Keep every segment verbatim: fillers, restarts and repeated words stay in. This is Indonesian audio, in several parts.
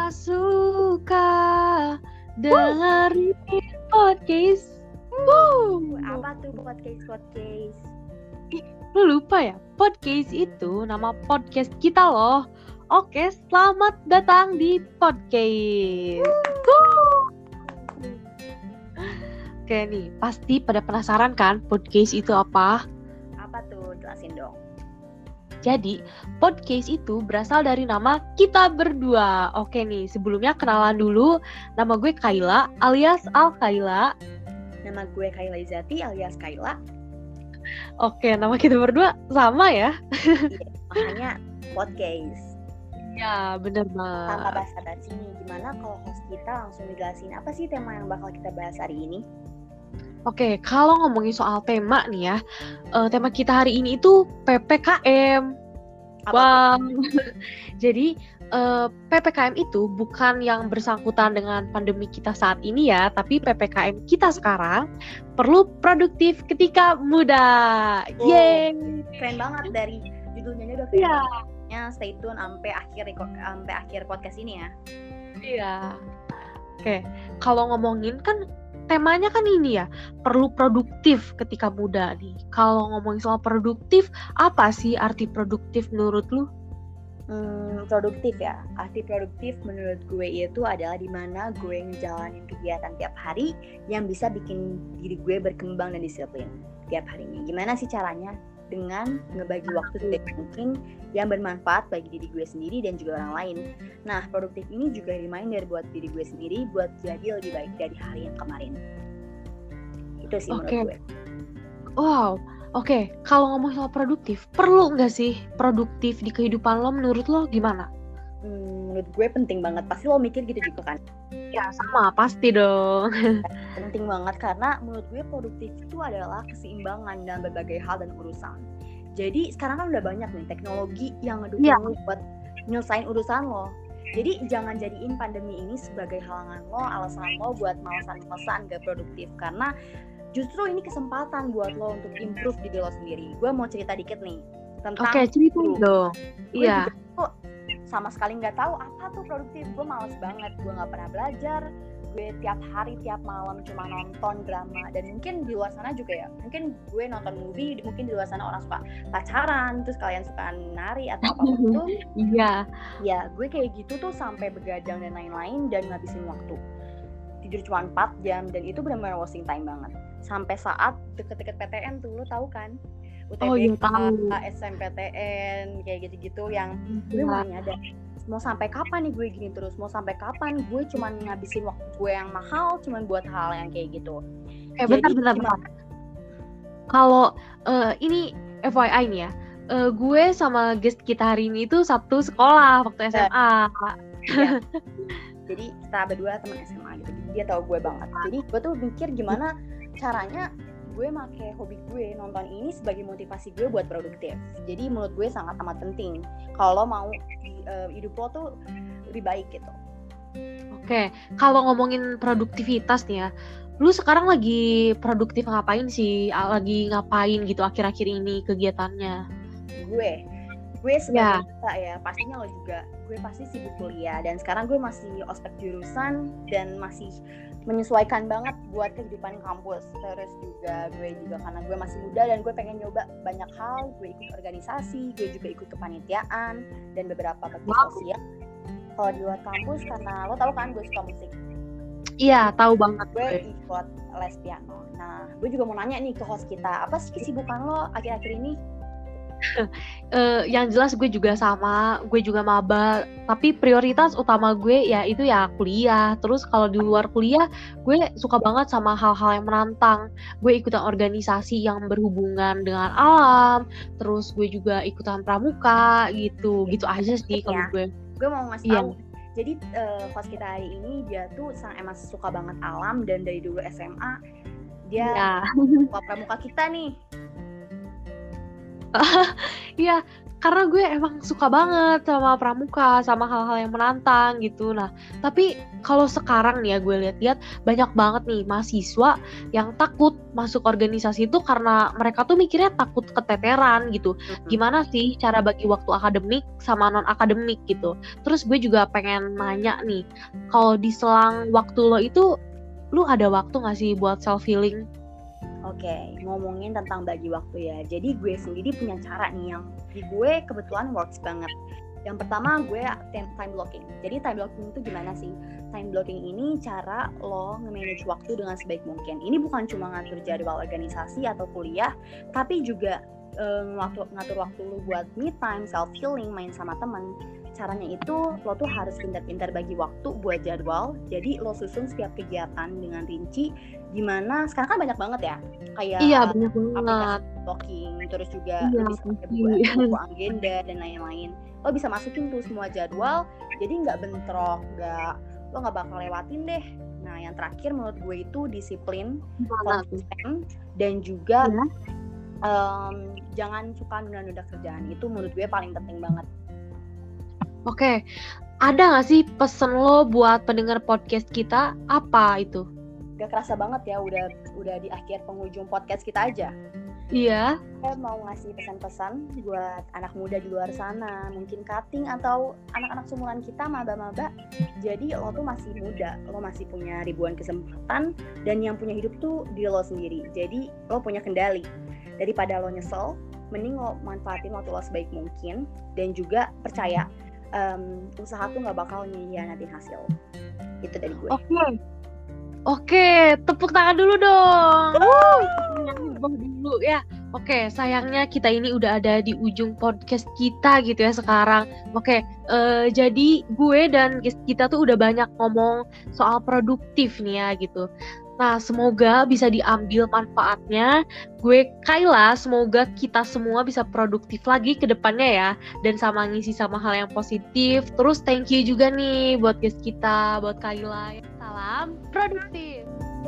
suka dengerin podcast. Woo. Apa tuh podcast podcast? Lu lupa ya? Podcast itu nama podcast kita loh. Oke, selamat datang di podcast. Woo. Oke nih, pasti pada penasaran kan podcast itu apa? Apa tuh? Jelasin dong. Jadi, podcast itu berasal dari nama kita berdua. Oke nih, sebelumnya kenalan dulu. Nama gue Kayla alias Al Kayla. Nama gue Kayla Izati alias Kayla. Oke, nama kita berdua sama ya? Iya, makanya podcast. Ya, bener banget. Tanpa basa-basi nih, gimana kalau host kita langsung ngejelasin apa sih tema yang bakal kita bahas hari ini? Oke, kalau ngomongin soal tema nih ya, uh, tema kita hari ini itu P P K M. Apa Wow. Jadi uh, P P K M itu bukan yang bersangkutan dengan pandemi kita saat ini ya, tapi P P K M kita sekarang perlu produktif ketika muda. Oh, Yeay. keren banget dari judulnya aja udah keren. Iya. Ya, stay tune sampai akhir sampai akhir podcast ini ya. Iya. Oke, kalau ngomongin kan temanya kan ini ya, perlu produktif ketika muda nih. Kalau ngomongin soal produktif, apa sih arti produktif menurut lu? Hmm, produktif ya. Arti produktif menurut gue itu adalah dimana gue ngejalanin kegiatan tiap hari yang bisa bikin diri gue berkembang dan disiplin tiap harinya. Gimana sih caranya? Dengan ngebagi waktu sebaik mungkin yang bermanfaat bagi diri gue sendiri dan juga orang lain. Nah, produktif ini juga reminder buat diri gue sendiri buat jadi lebih baik dari hari yang kemarin. Itu sih menurut Oke. gue. Wow, oke. Kalau ngomong soal produktif, perlu nggak sih produktif di kehidupan lo? Menurut lo gimana? Hmm, menurut gue penting banget. Pasti lo mikir gitu juga kan? Ya sama, pasti dong. Penting banget karena menurut gue produktif itu adalah keseimbangan dalam berbagai hal dan urusan. Jadi sekarang kan udah banyak nih teknologi yang ngedukung Ya. lo buat nyelesain urusan lo. Jadi jangan jadiin pandemi ini sebagai halangan lo, alasan lo buat malesan-malesan gak produktif. Karena justru ini kesempatan buat lo untuk improve diri lo sendiri. Gue mau cerita dikit nih tentang Oke, cerita dong. Gue Iya. juga tuh sama sekali nggak tahu apa tuh produktif. Gue males banget, gue nggak pernah belajar. Gue tiap hari tiap malam cuma nonton drama. Dan mungkin di luar sana juga ya, mungkin gue nonton movie, mungkin di luar sana orang suka pacaran, terus kalian suka nari atau apapun itu. Iya. Ya gue kayak gitu tuh sampai begadang dan lain-lain dan ngabisin waktu. Tidur cuma empat jam dan itu benar-benar wasting time banget. Sampai saat deket-deket P T N tuh, lo tahu kan? U T B K, Oh iya tahu. S M P T N, kayak gitu-gitu yang gue Iya. mau nyadar mau sampai kapan nih gue gini terus, mau sampai kapan gue cuman ngabisin waktu gue yang mahal cuman buat hal yang kayak gitu. Eh bentar bentar bentar. Kalau uh, ini F Y I nih ya, uh, gue sama guest kita hari ini itu satu sekolah waktu S M A. Ya. Jadi kita berdua teman S M A gitu, dia tahu gue banget. Jadi gue tuh mikir gimana caranya gue make hobi gue nonton ini sebagai motivasi gue buat produktif. Jadi menurut gue sangat amat penting kalau mau uh, hidup lo tuh lebih baik gitu. Oke, kalau ngomongin produktivitas nih ya, lu sekarang lagi produktif ngapain sih? Lagi ngapain gitu akhir-akhir ini kegiatannya? Gue, gue sebagai kita ya, pastinya lo juga. Gue pasti sibuk kuliah dan sekarang gue masih ospek jurusan dan masih menyesuaikan banget buat kehidupan kampus. Terus juga gue juga karena gue masih muda dan gue pengen nyoba banyak hal. Gue ikut organisasi, gue juga ikut kepanitiaan dan beberapa bakti Wow. sosial. Kalau di luar kampus karena lo tahu kan gue suka musik. Iya, tahu banget Gue gue. ikut les piano. Nah, gue juga mau nanya nih ke host kita, apa sih kesibukan lo akhir-akhir ini? Uh, yang jelas gue juga sama, gue juga maba. Tapi prioritas utama gue ya itu ya kuliah. Terus kalau di luar kuliah, gue suka banget sama hal-hal yang menantang. Gue ikutan organisasi yang berhubungan dengan alam. Terus gue juga ikutan pramuka gitu, gitu aja sih kalau Ya. gue. Gue mau ngasih Iya. tahu. Jadi uh, host kita hari ini dia tuh sang emang suka banget alam dan dari dulu S M A dia Iya. suka pramuka kita nih. Iya, karena gue emang suka banget sama pramuka, sama hal-hal yang menantang gitu. Nah, tapi kalau sekarang nih ya gue lihat-lihat banyak banget nih mahasiswa yang takut masuk organisasi itu karena mereka tuh mikirnya takut keteteran gitu. Gimana sih cara bagi waktu akademik sama non-akademik gitu. Terus gue juga pengen nanya nih, kalau di selang waktu lo itu, lu ada waktu gak sih buat self-healing? Oke, ngomongin tentang bagi waktu ya. Jadi gue sendiri punya cara nih yang di gue kebetulan works banget. Yang pertama gue time blocking. Jadi time blocking itu gimana sih? Time blocking ini cara lo nge-manage waktu dengan sebaik mungkin. Ini bukan cuma ngatur jadwal organisasi atau kuliah, tapi juga um, ngatur, ngatur waktu lo buat me time, self healing, main sama teman. Caranya itu lo tuh harus pintar-pintar bagi waktu buat jadwal. Jadi lo susun setiap kegiatan dengan rinci. Gimana sekarang kan banyak banget ya, kayak iya banyak banget blocking, terus juga iya, lo bisa buat buku agenda dan lain-lain. Lo bisa masukin tuh semua jadwal, jadi nggak bentrok, nggak lo nggak bakal lewatin deh. Nah yang terakhir menurut gue itu disiplin, konsisten, dan juga ya. um, jangan suka nunda-nunda kerjaan. Itu menurut gue paling penting banget. Oke, ada nggak sih pesen lo buat pendengar podcast kita? Apa itu? Gak kerasa banget ya, udah udah di akhir penghujung podcast kita aja. Iya. Saya mau ngasih pesan-pesan buat anak muda di luar sana, mungkin cutting atau anak-anak seumuran kita, maba-maba. Jadi lo tuh masih muda, lo masih punya ribuan kesempatan, dan yang punya hidup tuh diri lo sendiri. Jadi lo punya kendali. Daripada lo nyesel, mending lo manfaatin waktu lo sebaik mungkin, dan juga percaya um, usaha tuh nggak bakal nyianatin hasil. Itu dari gue. Oke. Okay. Oke, tepuk tangan dulu dong. Wuh, dulu ya. Oke, sayangnya kita ini udah ada di ujung podcast kita gitu ya sekarang. Oke, uh, jadi gue dan guest kita tuh udah banyak ngomong soal produktif nih ya gitu. Nah, semoga bisa diambil manfaatnya. Gue Kayla, semoga kita semua bisa produktif lagi ke depannya ya. Dan sama ngisi sama hal yang positif. Terus thank you juga nih buat guest kita, buat Kayla. Salam produktif.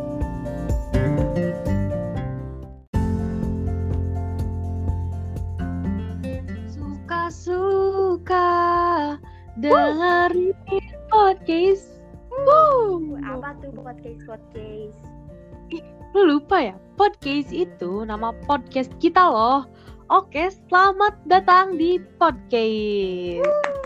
Suka-suka dengerin podcast. Woo. Apa tuh podcast-podcast? Lu lupa ya? Podcast itu nama podcast kita loh. Oke, selamat datang di podcast.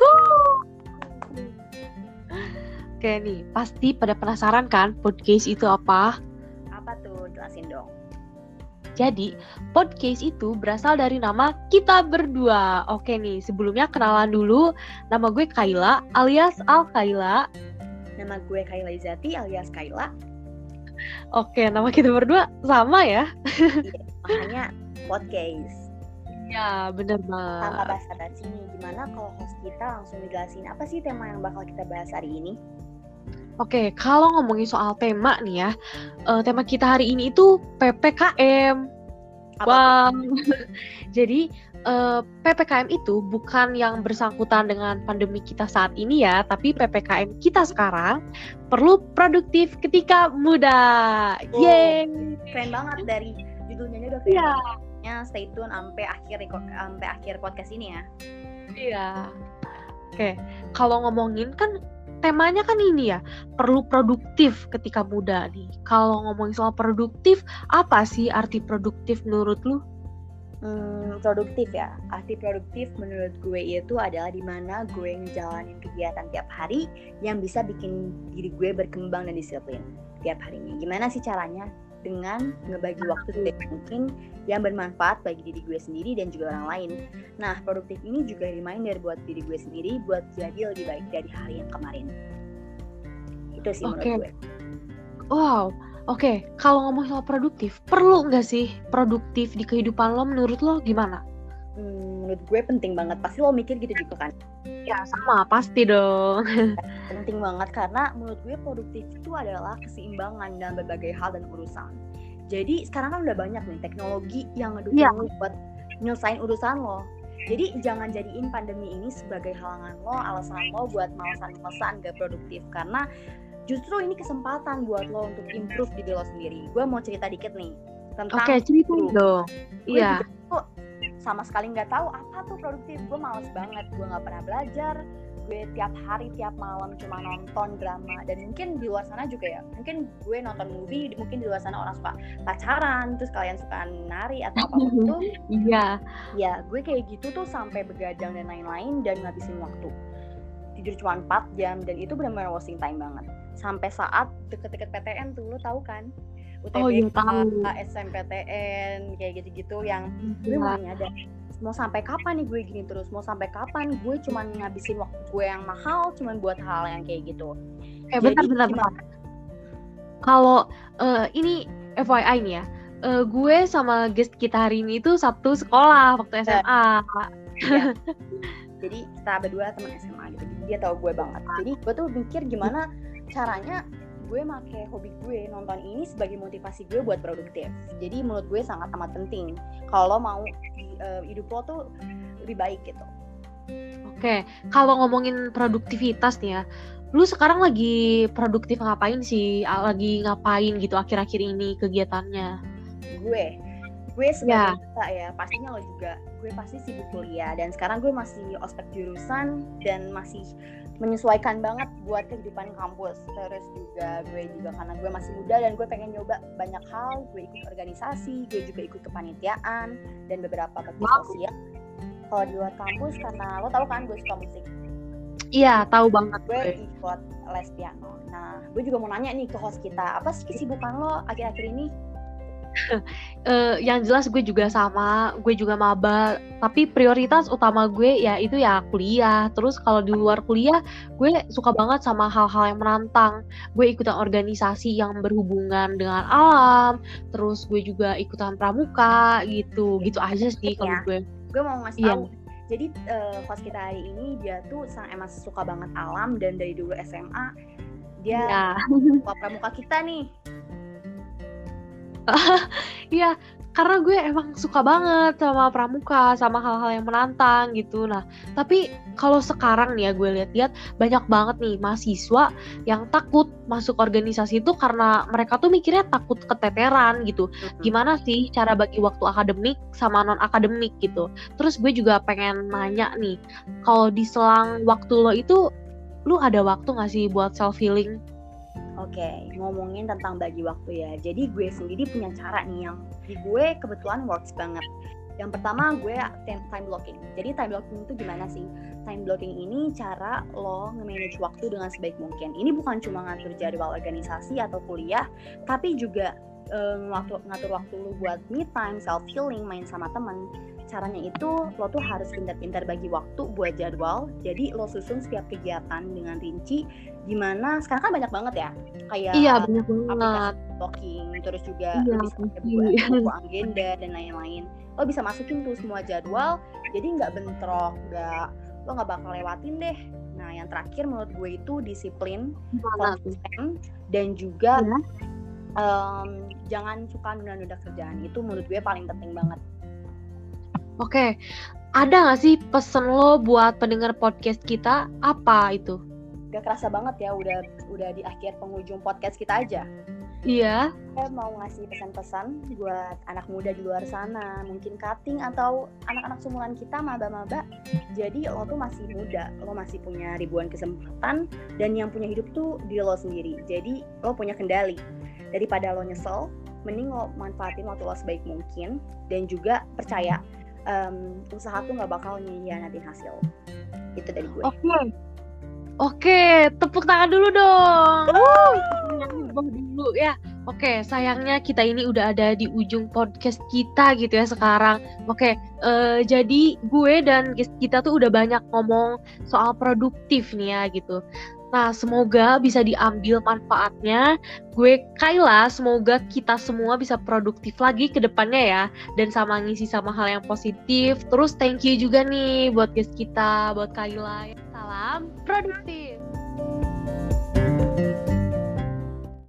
Oke nih, pasti pada penasaran kan podcast itu apa? Apa tuh? Jelasin dong. Jadi, podcast itu berasal dari nama kita berdua. Oke nih, sebelumnya kenalan dulu. Nama gue Kayla alias Al Kayla. Nama gue Kayla Izati alias Kayla. Oke, nama kita berdua sama ya? Iya, makanya podcast. Ya, bener banget. Tanpa basa-basi nih, gimana kalau host kita langsung ngejelasin apa sih tema yang bakal kita bahas hari ini? Oke, kalau ngomongin soal tema nih ya, uh, tema kita hari ini itu P P K M. Apa? Wow. Jadi uh, P P K M itu bukan yang bersangkutan dengan pandemi kita saat ini ya, tapi P P K M kita sekarang perlu produktif ketika muda. Oh, yeay. Keren banget dari judulnya udah keren. Yeah. Ya, stay tune sampai akhir sampai akhir podcast ini ya. Iya. Oke, kalau ngomongin kan temanya kan ini ya, perlu produktif ketika muda nih. Kalau ngomongin soal produktif, apa sih arti produktif menurut lu? Hmm, produktif ya. Arti produktif menurut gue itu adalah dimana gue ngejalanin kegiatan tiap hari yang bisa bikin diri gue berkembang dan disiplin tiap harinya. Gimana sih caranya? Dengan ngebagi waktu sebaik mungkin yang bermanfaat bagi diri gue sendiri dan juga orang lain. Nah, produktif ini juga reminder buat diri gue sendiri buat jadi lebih baik dari hari yang kemarin. Itu sih okay. menurut gue. Wow, oke. Okay. Kalau ngomong soal produktif, perlu nggak sih produktif di kehidupan lo? Menurut lo gimana? Hmm, menurut gue penting banget. Pasti lo mikir gitu juga kan? Ya sama, pasti dong. Penting banget karena menurut gue produktif itu adalah keseimbangan dalam berbagai hal dan urusan. Jadi sekarang kan udah banyak nih teknologi yang ngedukung ya. Lo buat nyelesain urusan lo. Jadi jangan jadiin pandemi ini sebagai halangan lo, alasan lo buat malesan-malesan gak produktif. Karena justru ini kesempatan buat lo untuk improve diri lo sendiri. Gue mau cerita dikit nih tentang Oke, cerita dong. Iya. sama sekali nggak tahu apa tuh produktif. Gue males banget, gue nggak pernah belajar, gue tiap hari tiap malam cuma nonton drama. Dan mungkin di luar sana juga ya, mungkin gue nonton movie, mungkin di luar sana orang suka pacaran, terus kalian suka nari atau apapun itu. Iya. Ya gue kayak gitu tuh sampai begadang dan lain-lain dan ngabisin waktu. Tidur cuma empat jam dan itu benar-benar wasting time banget. Sampai saat deket-deket P T N tuh, lo tahu kan? U T B K, Oh iya tahu. S M P T N, kayak gitu-gitu yang gue mau nyadar. Mau sampai kapan nih gue gini terus? Mau sampai kapan gue cuma ngabisin waktu gue yang mahal cuma buat hal yang kayak gitu? Eh bentar-bentar. Kalau uh, ini F Y I nih ya, uh, gue sama guest kita hari ini itu Sabtu sekolah waktu S M A. Ya. Jadi kita berdua teman S M A gitu. Dia tahu gue banget. Jadi gue tuh mikir gimana caranya gue make hobi gue nonton ini sebagai motivasi gue buat produktif. Jadi menurut gue sangat amat penting kalau mau uh, hidup lo tuh lebih baik gitu. Oke, kalau ngomongin produktivitas nih ya, lu sekarang lagi produktif ngapain sih? Lagi ngapain gitu akhir-akhir ini kegiatannya? Gue, gue sebagai kita ya, pastinya lo juga. Gue pasti sibuk kuliah dan sekarang gue masih ospek jurusan dan masih menyesuaikan banget buat kehidupan kampus. Terus juga gue juga karena gue masih muda dan gue pengen nyoba banyak hal. Gue ikut organisasi, gue juga ikut kepanitiaan dan beberapa bakti wow. sosial. Kalau di luar kampus karena lo tahu kan gue suka musik. Iya, tahu banget. Gue ikut les piano. Nah, gue juga mau nanya nih ke host kita, apa sih kesibukan lo akhir-akhir ini? uh, yang jelas gue juga sama, gue juga maba, tapi prioritas utama gue ya itu ya kuliah. Terus kalau di luar kuliah, gue suka banget sama hal-hal yang menantang. Gue ikutan organisasi yang berhubungan dengan alam, terus gue juga ikutan pramuka gitu, gitu aja sih kalau ya. gue. Gue mau ngasih yeah. tahu. Jadi uh, host kita hari ini dia tuh sangat emang suka banget alam dan dari dulu S M A dia yeah. suka pramuka kita nih. Iya, karena gue emang suka banget sama pramuka, sama hal-hal yang menantang gitu. Nah, tapi kalau sekarang nih ya gue lihat-lihat banyak banget nih mahasiswa yang takut masuk organisasi itu karena mereka tuh mikirnya takut keteteran gitu. Gimana sih cara bagi waktu akademik sama non-akademik gitu. Terus gue juga pengen nanya nih, kalau di selang waktu lo itu, lu ada waktu gak sih buat self-healing? Oke, okay, ngomongin tentang bagi waktu ya. Jadi gue sendiri punya cara nih yang di gue kebetulan works banget. Yang pertama gue time blocking. Jadi time blocking itu gimana sih? Time blocking ini cara lo nge-manage waktu dengan sebaik mungkin. Ini bukan cuma ngatur jadwal organisasi atau kuliah, tapi juga um, waktu, ngatur waktu lo buat me time, self healing, main sama teman. Caranya itu lo tuh harus pintar-pintar bagi waktu buat jadwal. Jadi lo susun setiap kegiatan dengan rinci. Dimana sekarang kan banyak banget ya, kayak iya, banyak banget blocking, terus juga iya, bisa pakai buku, buku agenda dan lain-lain. Lo bisa masukin tuh semua jadwal, jadi nggak bentrok, nggak lo nggak bakal lewatin deh. Nah, yang terakhir menurut gue itu disiplin, konsisten, dan juga ya. um, jangan suka nunda-nunda kerjaan. Itu menurut gue paling penting banget. Oke, ada nggak sih pesen lo buat pendengar podcast kita? Apa itu? Gak kerasa banget ya udah udah di akhir penghujung podcast kita aja. Iya. Saya mau ngasih pesan-pesan buat anak muda di luar sana, mungkin cutting atau anak-anak seumuran kita, maba-maba. Jadi lo tuh masih muda, lo masih punya ribuan kesempatan dan yang punya hidup tuh diri lo sendiri. Jadi lo punya kendali. Daripada lo nyesel, mending lo manfaatin waktu lo sebaik mungkin dan juga percaya um, usaha tuh nggak bakal nyihianatin hasil. Itu dari gue. Oke. Okay. Oke, tepuk tangan dulu dong. Wuh, dulu ya. Oke, sayangnya kita ini udah ada di ujung podcast kita gitu ya sekarang. Oke, uh, jadi gue dan guest kita tuh udah banyak ngomong soal produktif nih ya gitu. Nah, semoga bisa diambil manfaatnya. Gue Kayla, semoga kita semua bisa produktif lagi ke depannya ya. Dan sama ngisi sama hal yang positif. Terus thank you juga nih buat guest kita, buat Kayla. Salam produktif.